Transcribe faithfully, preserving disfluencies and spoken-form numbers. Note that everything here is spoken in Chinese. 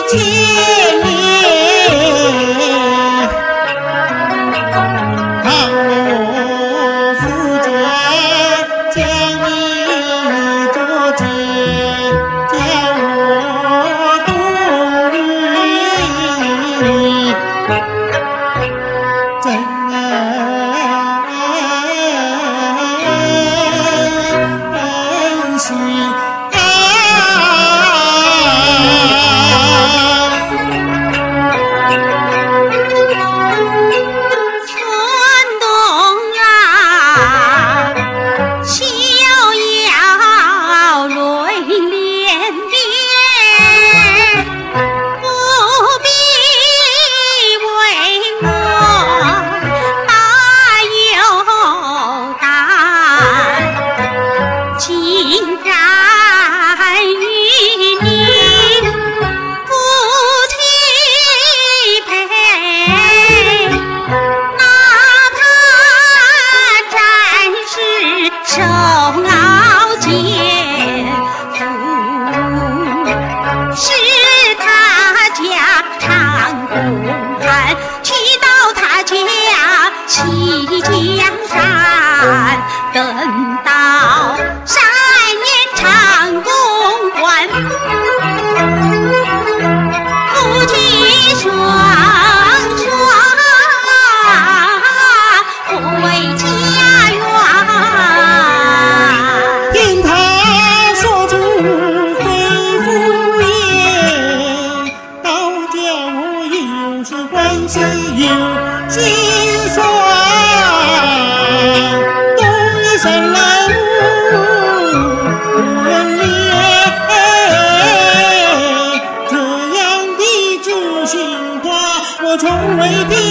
千年。倘我思见，见你着见，见我度日，真心啊！ 村东啊，逍遥泪涟涟，不必为我把忧担，竟然与你夫妻配。哪怕战士受熬煎夫，是他家常公汉，去到他家弃江山，等到三年长公关，夫妻双双护卫家园。 听他说出肺腑言，倒叫我有时欢喜有心酸。东一山来无人怜，这样的知心话我从未听